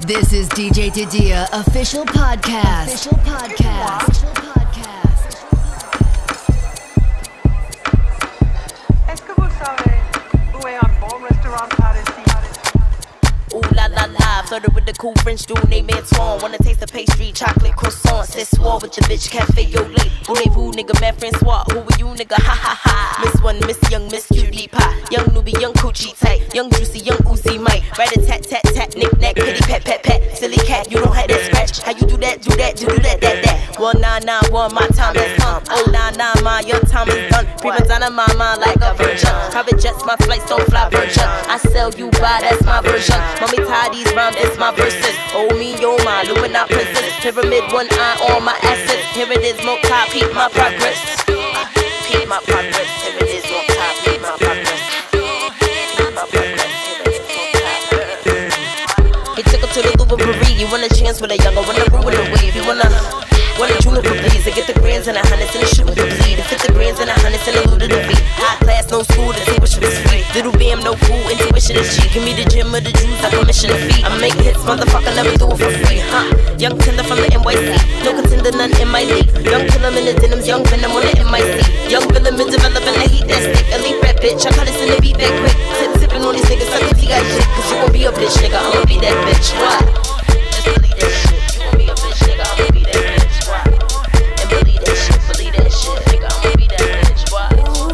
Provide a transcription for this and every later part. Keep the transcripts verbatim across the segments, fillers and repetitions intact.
This is D J Didia official podcast. Official podcast. Official podcast. Est-ce que vous savez où est un bon restaurant par ici? Ooh la la la, flirted with the cool French dude named Antoine. Wanna taste the pastry, chocolate croissant. Said swore with your bitch, cafe yo late. Voulez-vous, nigga, man, Francois. Who are you, nigga? Ha ha ha. Miss one, Miss Young, Miss Cutie Pie. Young newbie, young coochie tight. Young juicy, young Uzi Mike. Rat a tat tat tat, knick knack, kitty pet pet pet. Silly cat, you don't have that scratch. How you do that, do that, do, do that, that, that. One nine nine one, my time has come. Oh nine nine, my your time is done. Prima donna, my mind like a virgin. Private jets, my flights don't fly virgin. I sell you by, that's my version. Mommy tie these rhymes, it's my verses. Oh me, oh my, Illuminati princess. Pyramid, one eye on my assets. Here it is, multi, peep my progress. Peep my progress. Here it is, multi, peep my progress. Peep my progress. Here it is, multi. He took her to the Louvre Paris. You want a chance with a younger, wanna ruin the wave. You wanna. What a juniper, please. I get the grands and the hundreds and the shit with the bleed. Fit the grands and the hundreds and the loot of the beat. High class, no school, the table should be sweet. Little bam, no fool, intuition is G. Give me the gym or the juice, I commission the fee. I make hits, motherfucker, never do it for free, huh? Young tender from the N Y C. No contender, none in my league. Young killer in the denims, young venom on the M I C. Young villain been developing the heat that stick. Elite rap bitch, I cut this in the beat that quick. Tip tipping on these niggas, suck T got shit. Cause you gon' be a bitch, nigga, I'ma be that bitch. Why? Just believe that shit. You gon' be a bitch, nigga, I'ma be that bitch. Why? Believe that shit, believe that shit, nigga, I'ma be that bitch, why?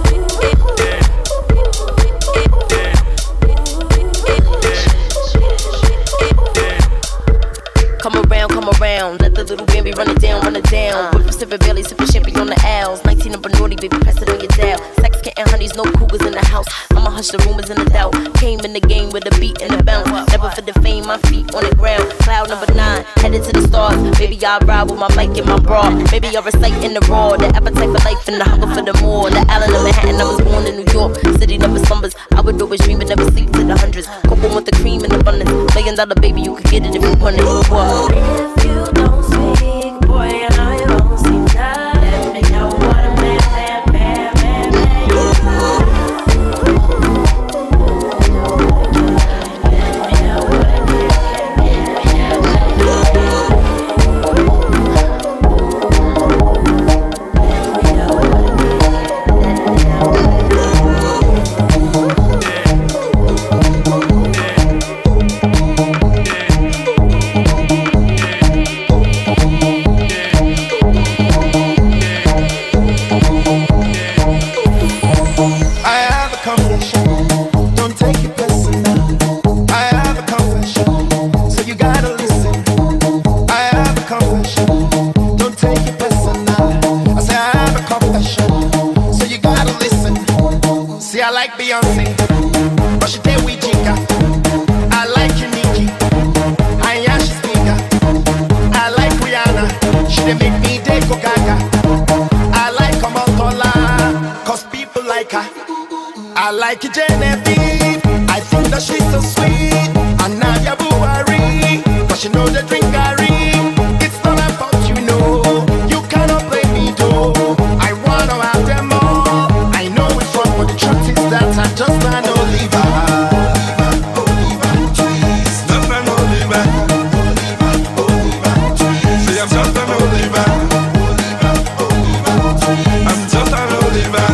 Come around, come around, let the little baby run it down, run it down. Whip sippin' Bailey, sippin' champagne on the L's. nineteen number naughty, baby, press it on your dial. Sex, kitten, honeys, no cougars in the house. I'ma hush the rumors and the doubt. Came in the game with a beat and a bounce. Never for the fame, my feet on the ground. Cloud number nine, headed to the stars. Baby, I ride with my mic and my bra. Baby, I recite in the raw. The appetite for life and the hunger for the more. The island of Manhattan, I was born in New York. City never slumbers. I would always dream but never sleep to the hundreds. Cocoa with the cream in abundance. Million dollar baby, you could get it if you want it. What? If you don't speak, boy, I know you won't see that. Let me know what a man, man, man, man, man you are. I like Genevieve, I think that she's so sweet. And Nadia Buhari, cause she know the drink Gary. It's not about you know, you cannot play me though. I wanna have them all, I know it's wrong, but the truth is that I just can't Oliver. Oliver, please. Just an Oliver. Oliver, please. See, I'm just an Oliver. Oliver, Oliver, I'm just an Oliver.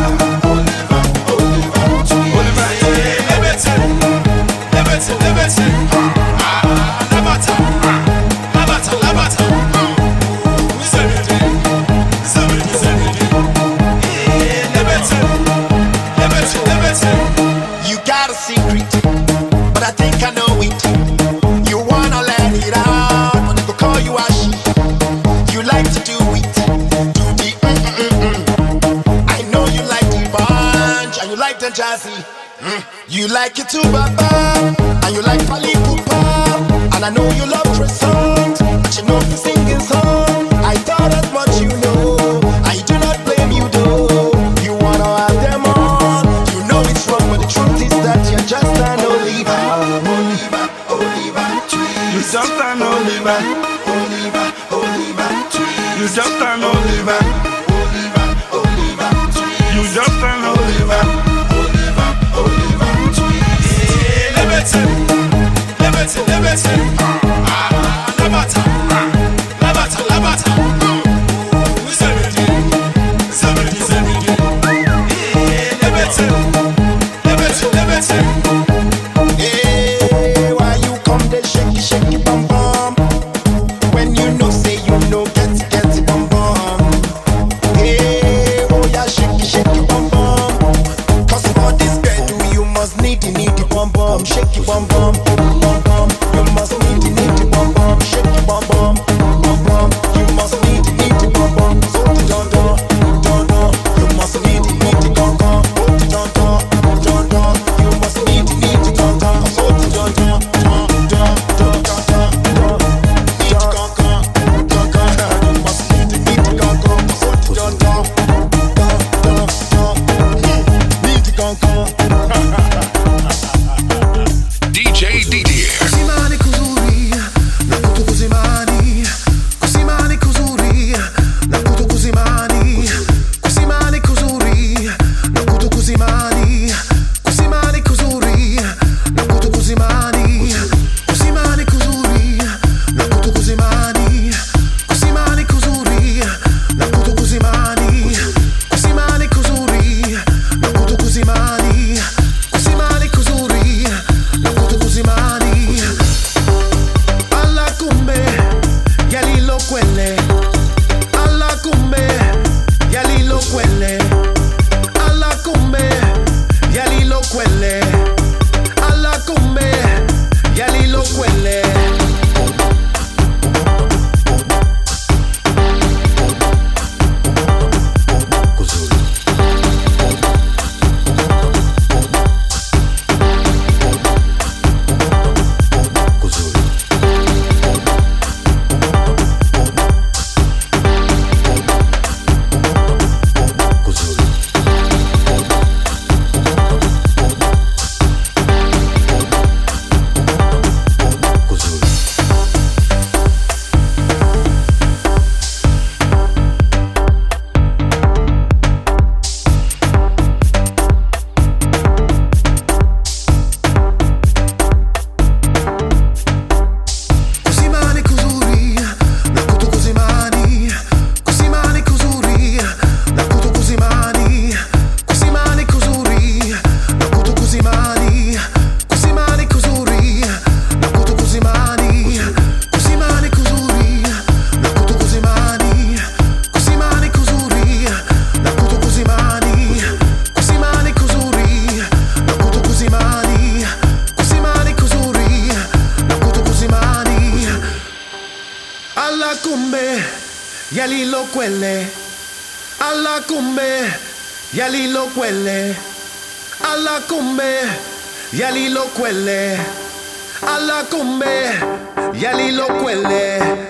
You got a secret, but I think I know it. You wanna let it out, but they go call you Ashi. You like to do it, do the mm-mm-mm-mm. I know you like the bunch, and you like the jazzy. Mm. You like it too, Baba, and you like Pali Pupa. And I know you love croissant, but you know the singing song. I thought as much you know, I do not blame you though. You wanna have them all, you know it's wrong, but the truth is that you're just an Oliver. Oliver, Oliver, you just an Oliver. Oliver, Oliver, you just an Oliver. Oliver, Oliver, you just an Oliver. Oliver, Oliver, yeah, liberty, liberty, liberty. Ah. quelle, alla come, yali lo quelle, alla come, yali lo quelle. Alla come, yali lo quelle.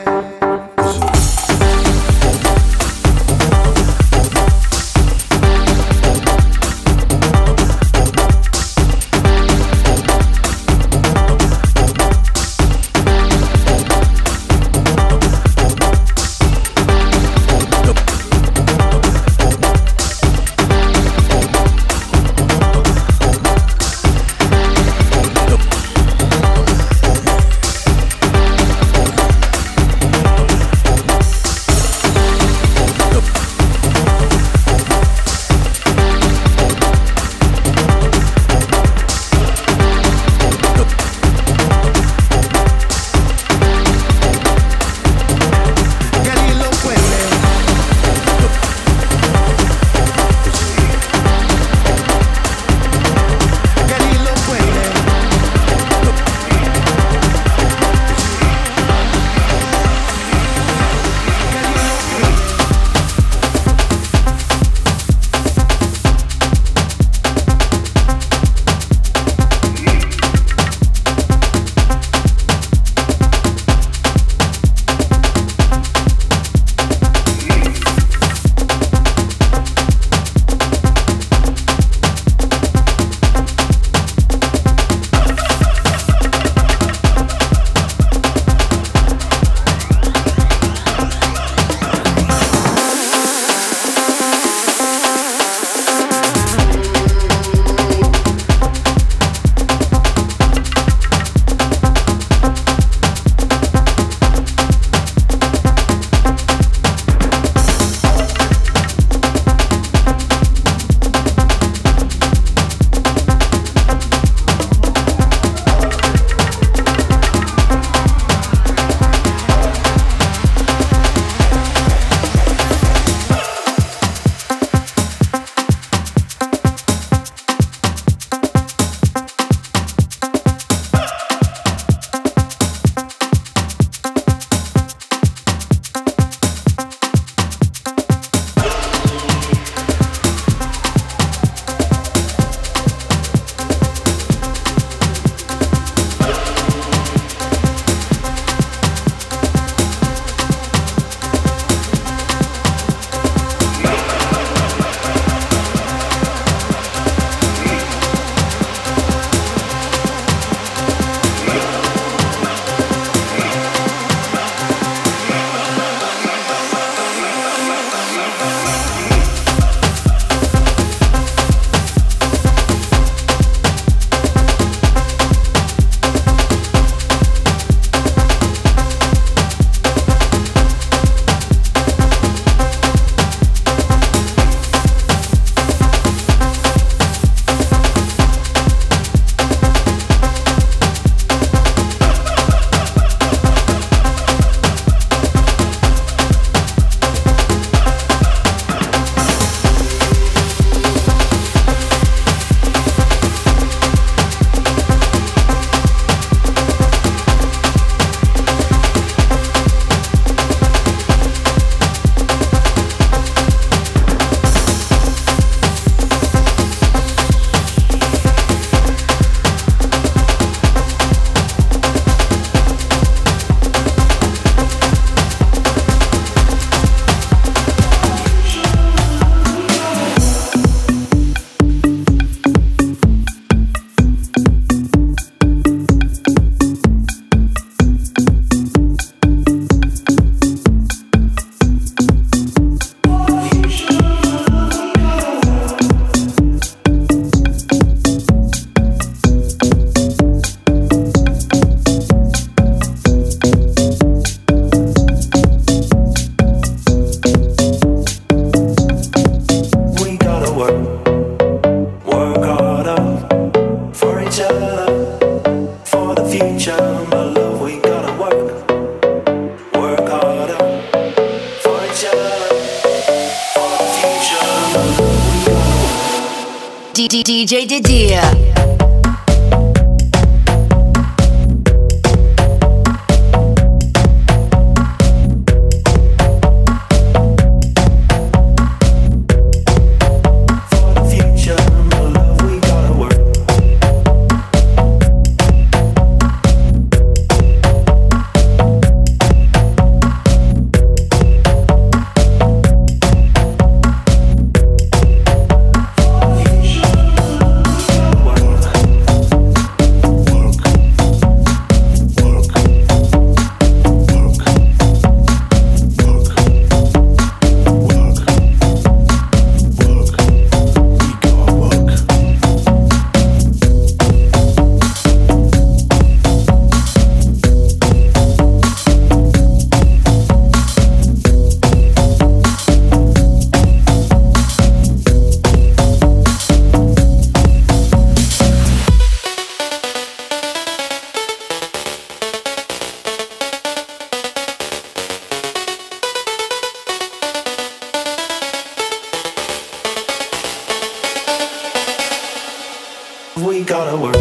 work, work harder for each other, for the future, my love. We gotta work, work harder for each other, for the future, my love. We gotta work. D J Didier. We gotta work.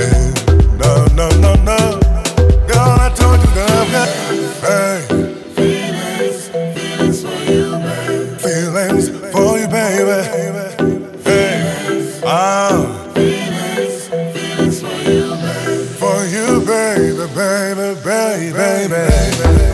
Hey. Ah. Feelings, feelings for you, baby. For you, baby, baby, baby, baby, baby.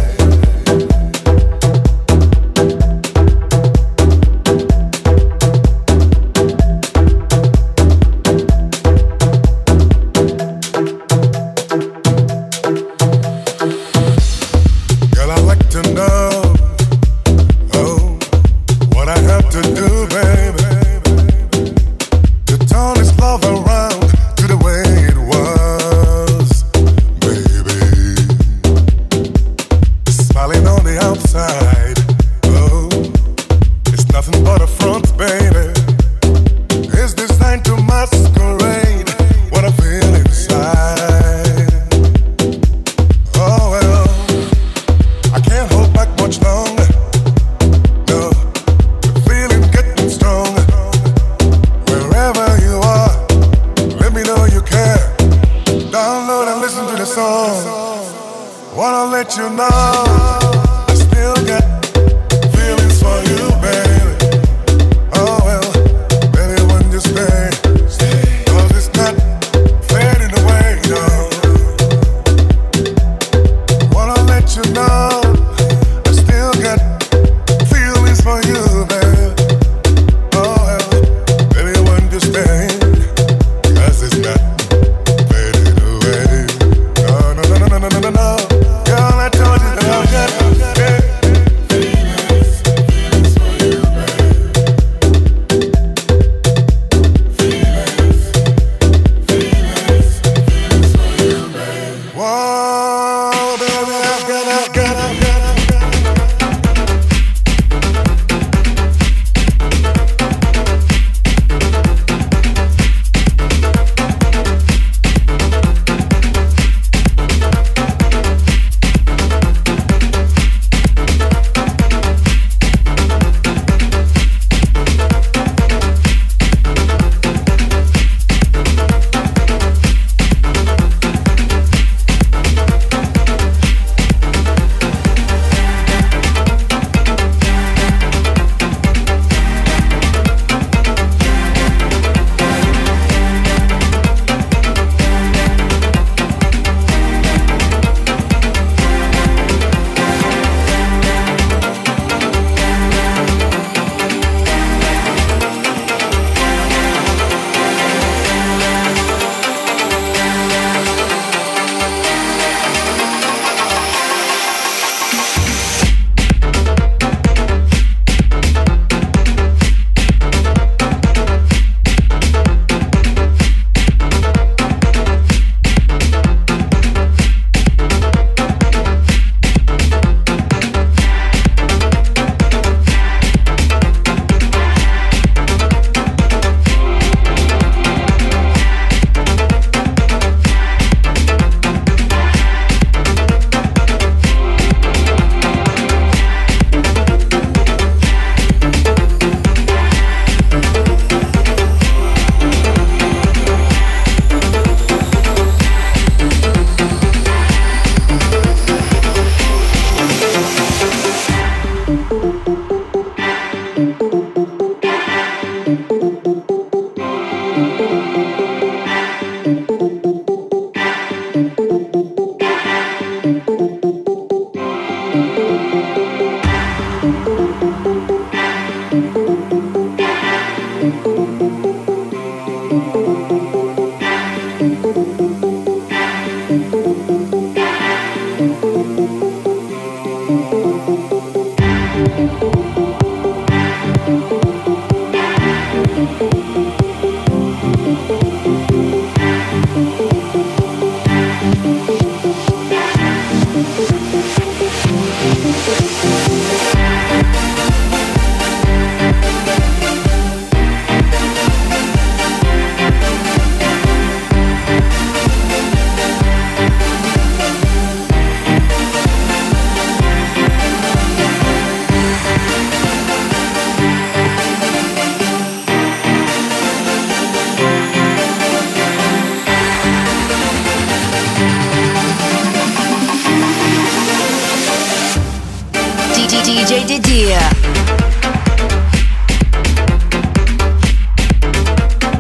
D J Didier.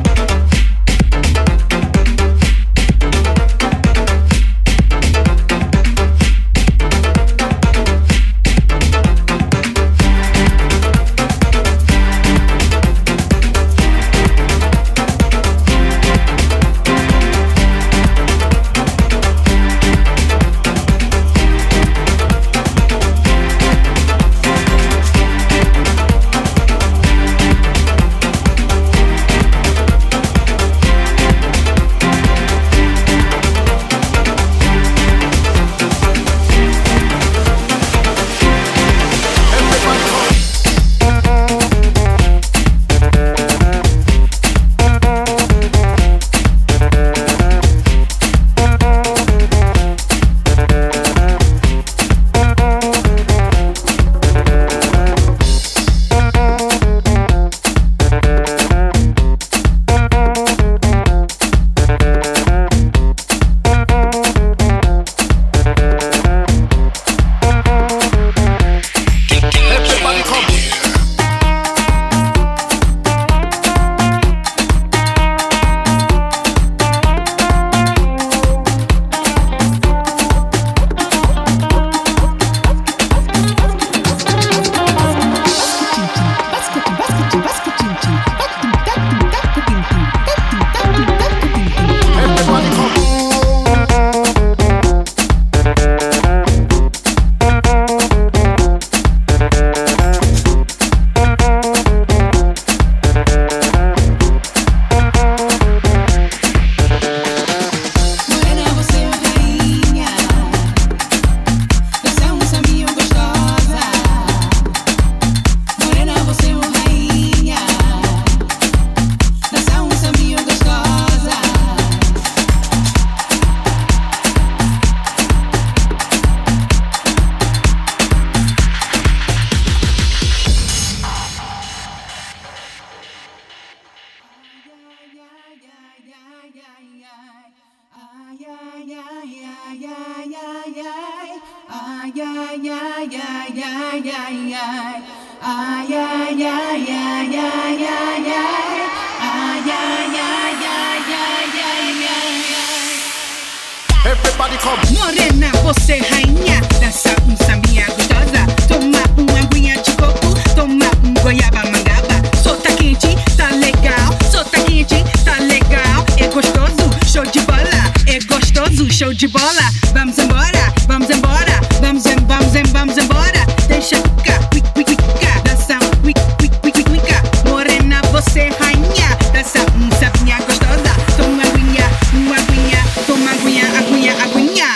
Everybody come. Morena, você rainha, dança um sambinha gostosa. Toma uma aguinha de coco, toma um goiaba mangaba. Solta quente, tá legal. Solta quente, tá legal. É gostoso, show de bola. É gostoso, show de bola. Vamos embora, vamos embora. Vamos, em, vamos, em, vamos embora. Deixa ficar, quick, quick, quick, dança, quick, quick, quick, quick. Morena, você rainha, dança um sambinha gostosa. Toma aguinha, uma aguinha, toma aguinha, aguinha, aguinha.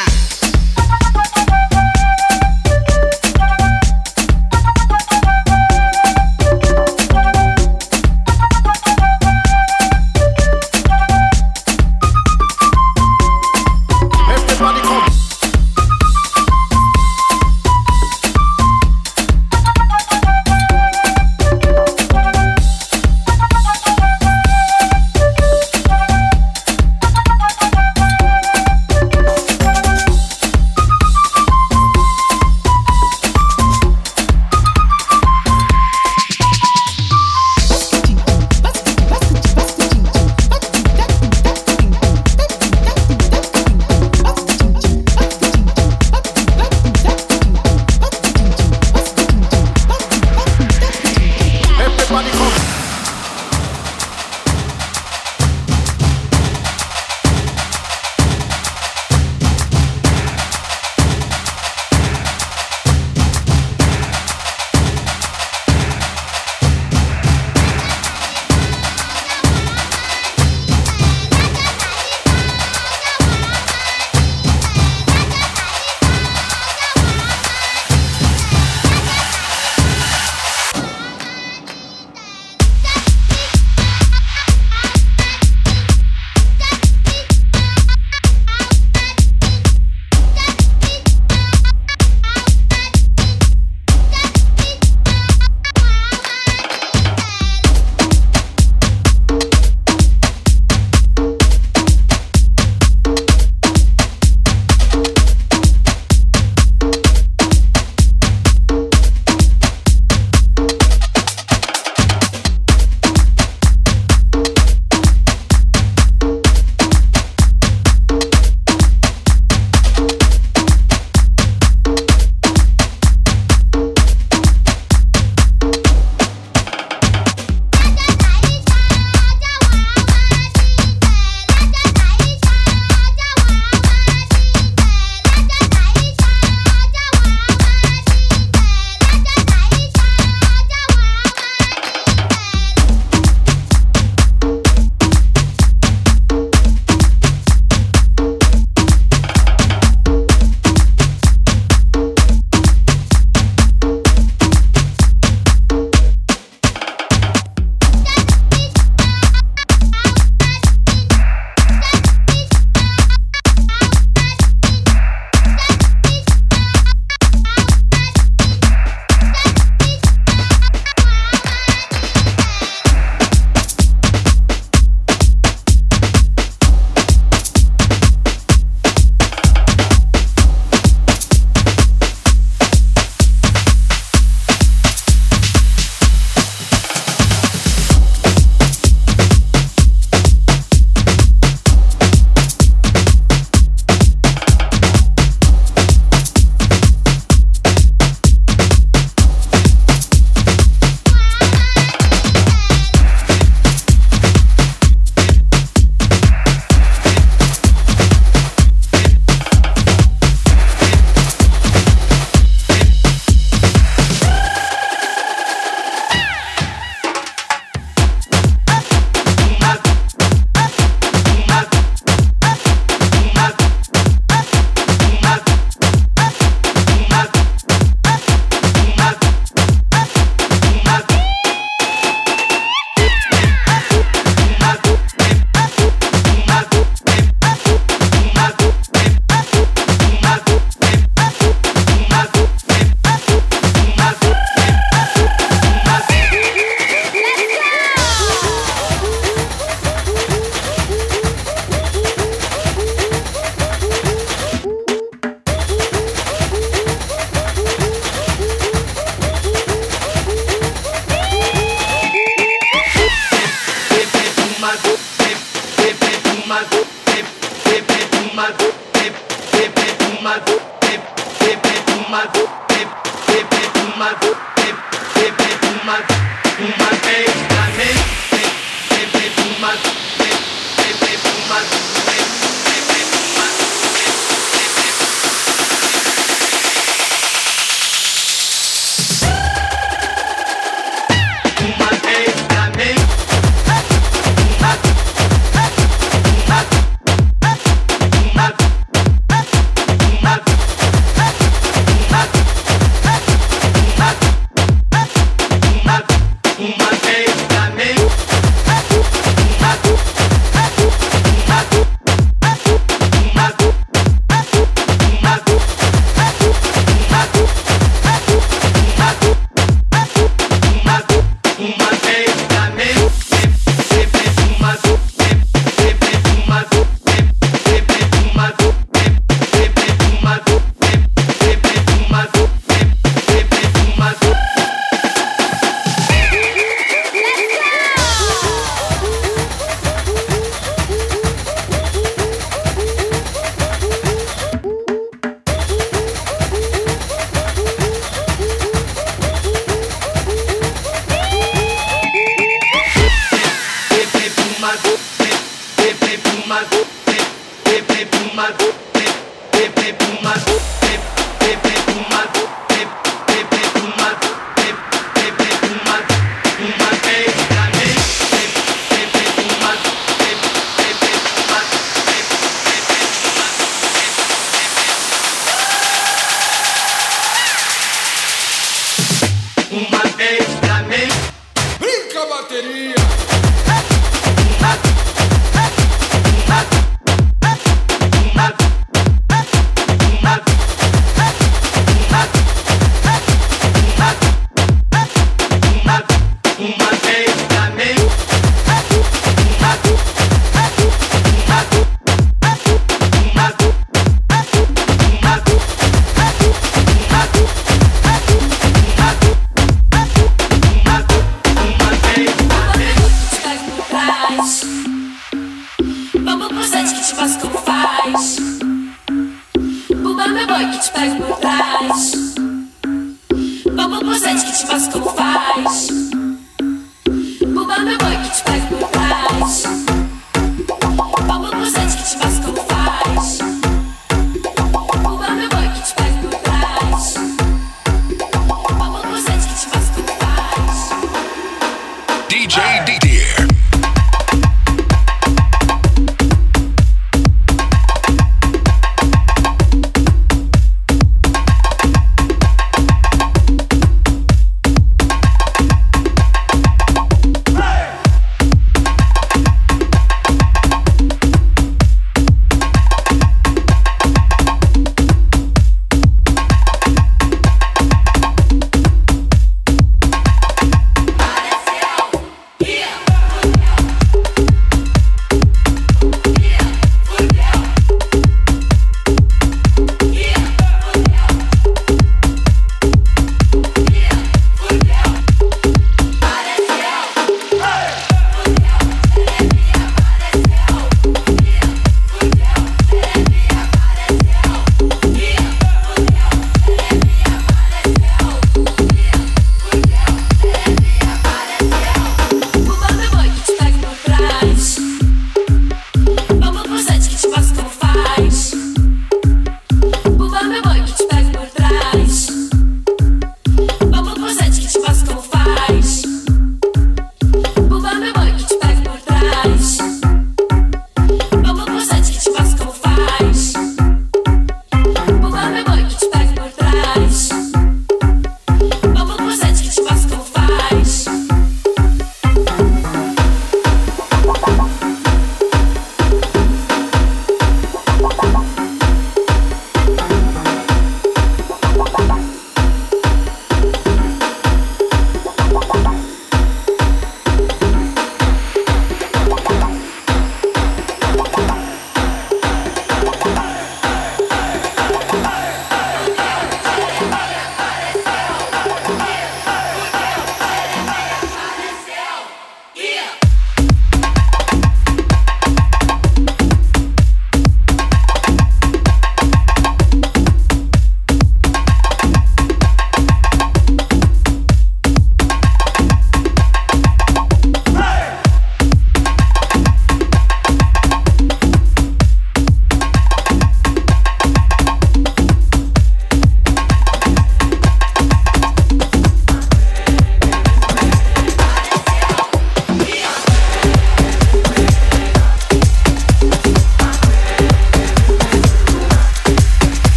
Everybody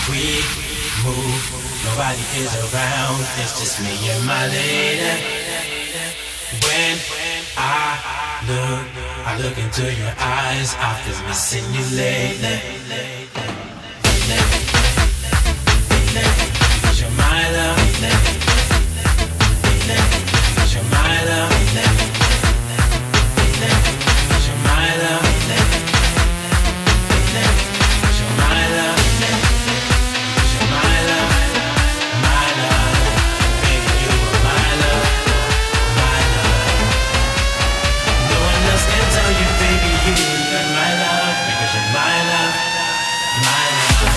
we move, nobody is around. It's just me and my lady. When I look, I look into your eyes. I've been missing you lately. Cause you're my love. Cause you're my love. Cause you're my love. Cause you're my love. Cause you're my love. My love. Baby, you are my love. My love. No one else can tell you, baby, you are my love. Because you're my love. My love.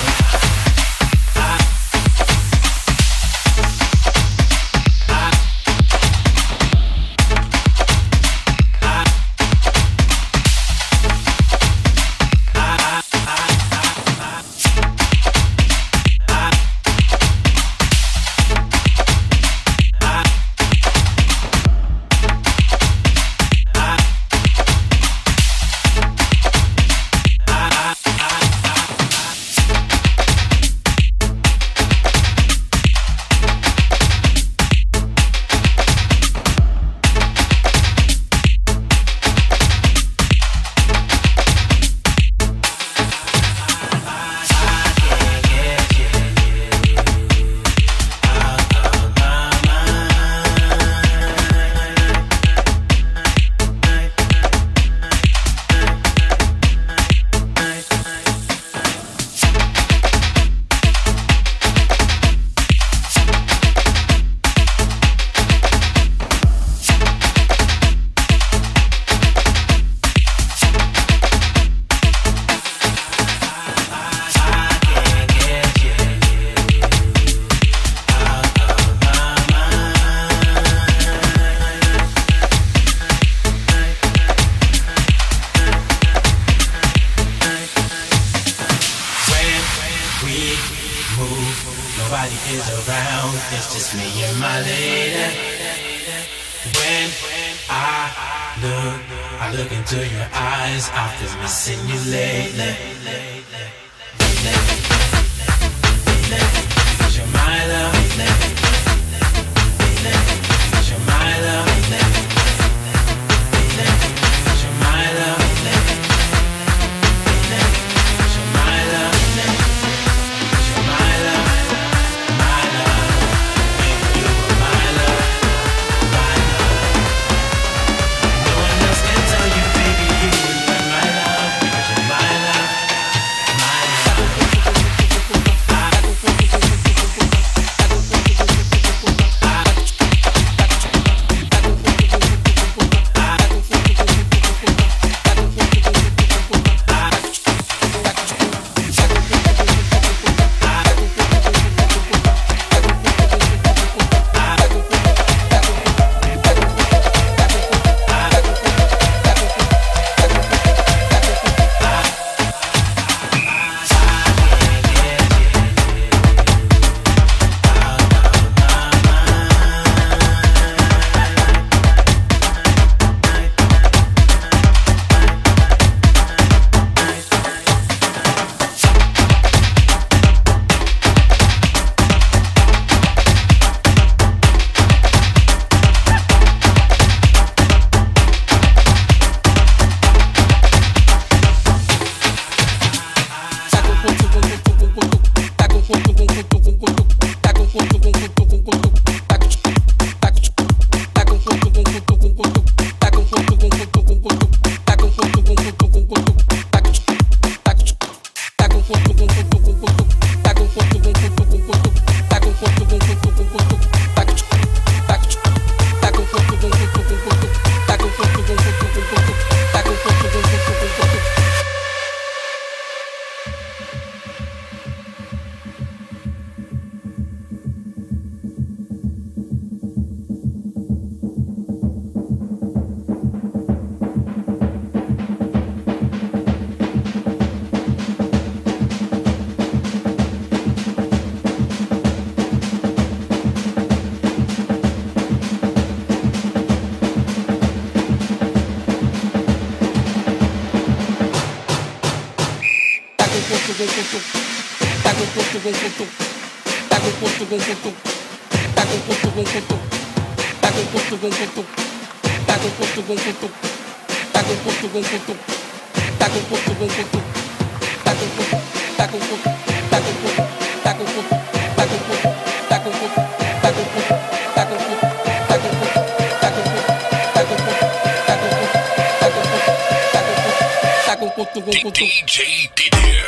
D J Didier.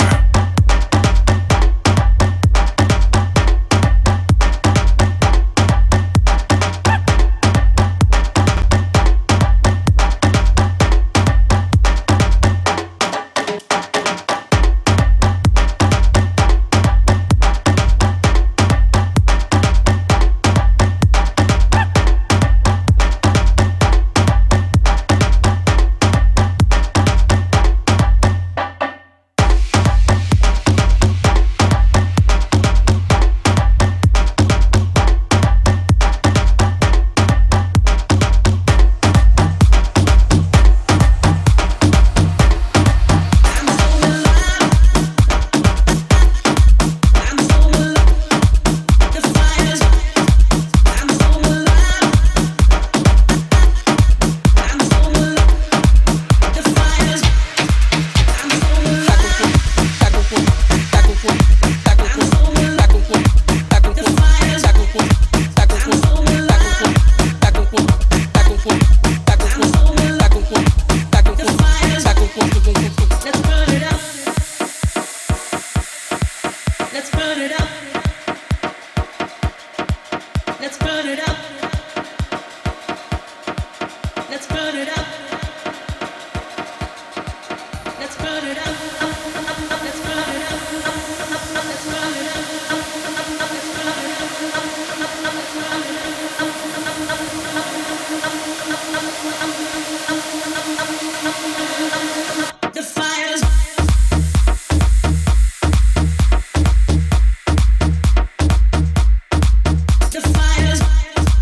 The fires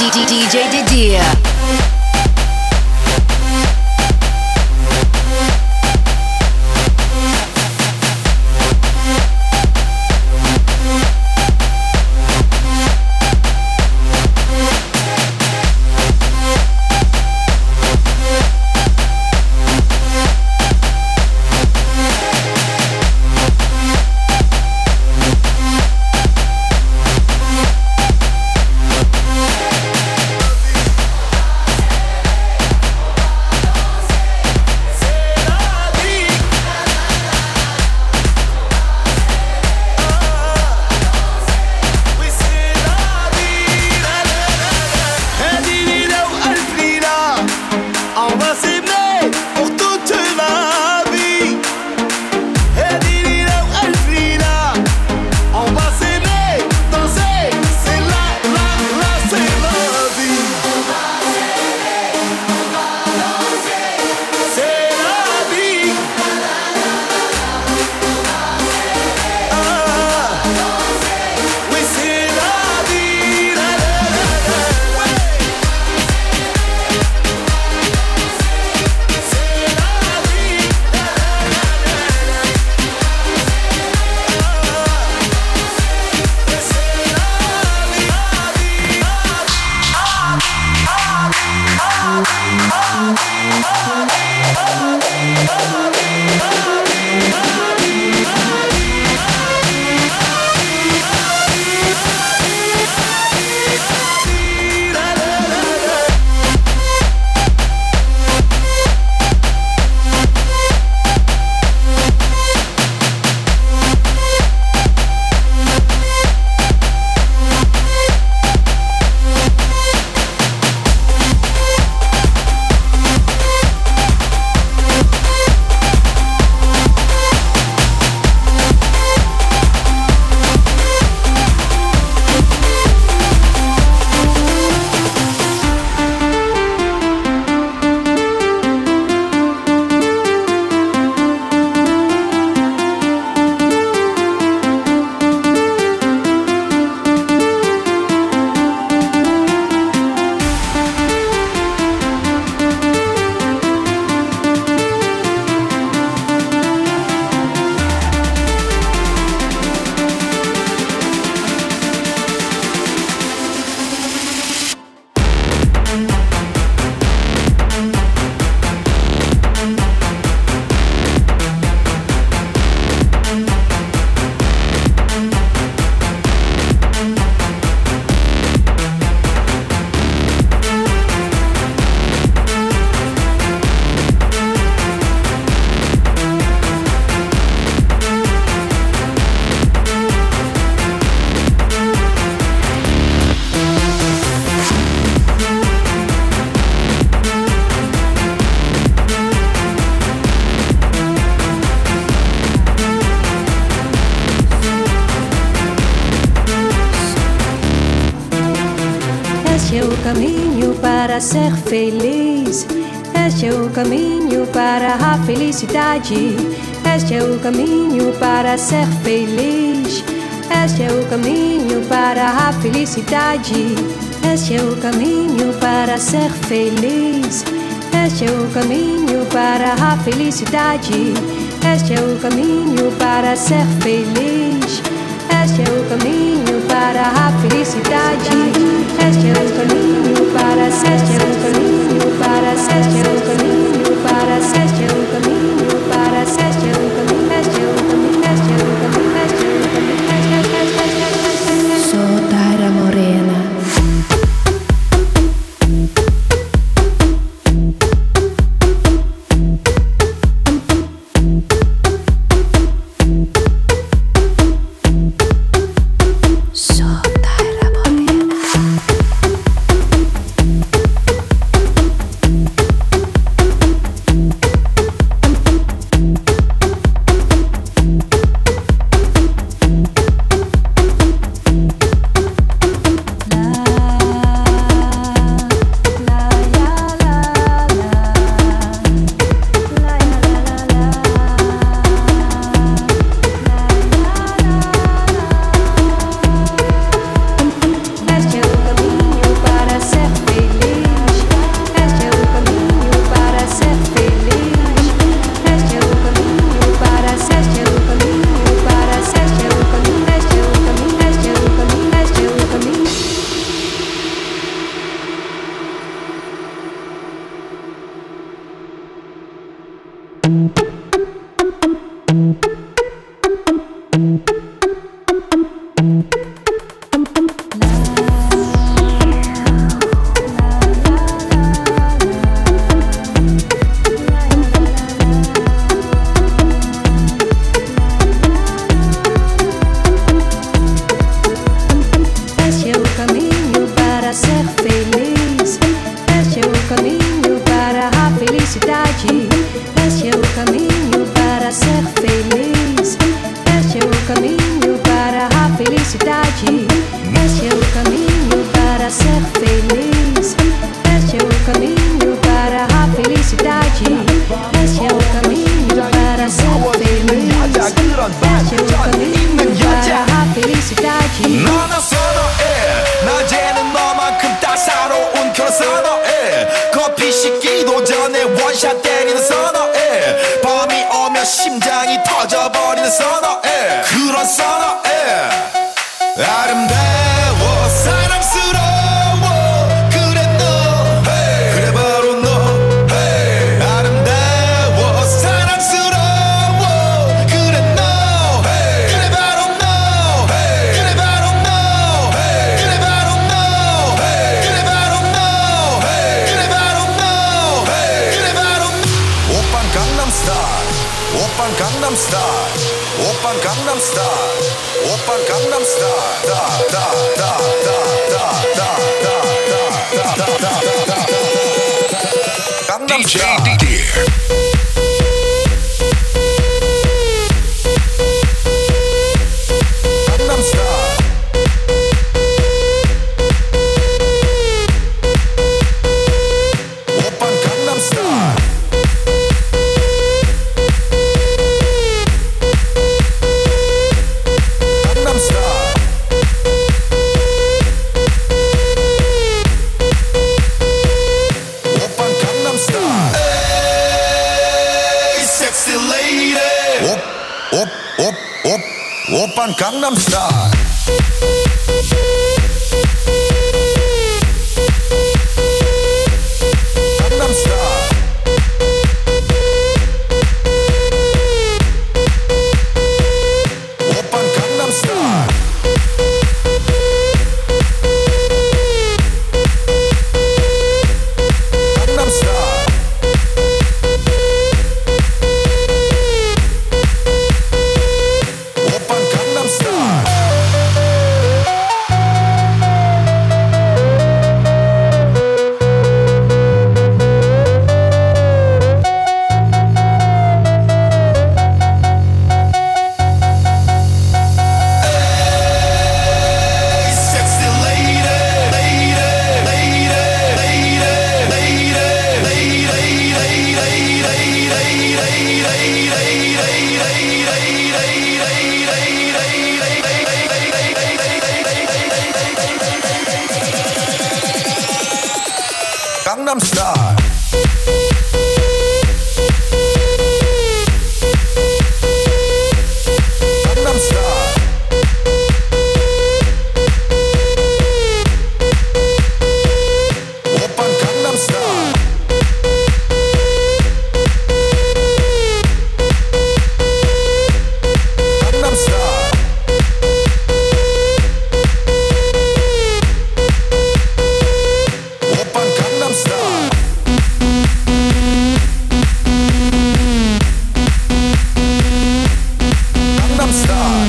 D J Didier. Para ser feliz, este é o caminho para a felicidade. Este é o caminho para ser feliz. Este é o caminho para a felicidade. Este é o caminho para ser feliz. Este é o caminho para a felicidade. Este é o caminho para ser feliz. Este é o caminho para a felicidade. Este é o caminho para este é o caminho para este é o caminho para este é o caminho para este é o caminho este é o caminho este é o caminho este é o caminho. Sou Taira Morena. Sou Taira Morena. Gangnam Style. Gangnam Style. Oppan Gangnam Style. Gangnam Style. Oppan Gangnam Style. Gangnam Style. Gangnam Style. Oppan Gangnam Style. Gangnam Style. Oppan Gangnam Style. Gangnam Style.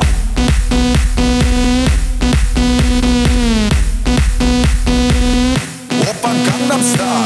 Oppan Gangnam Style.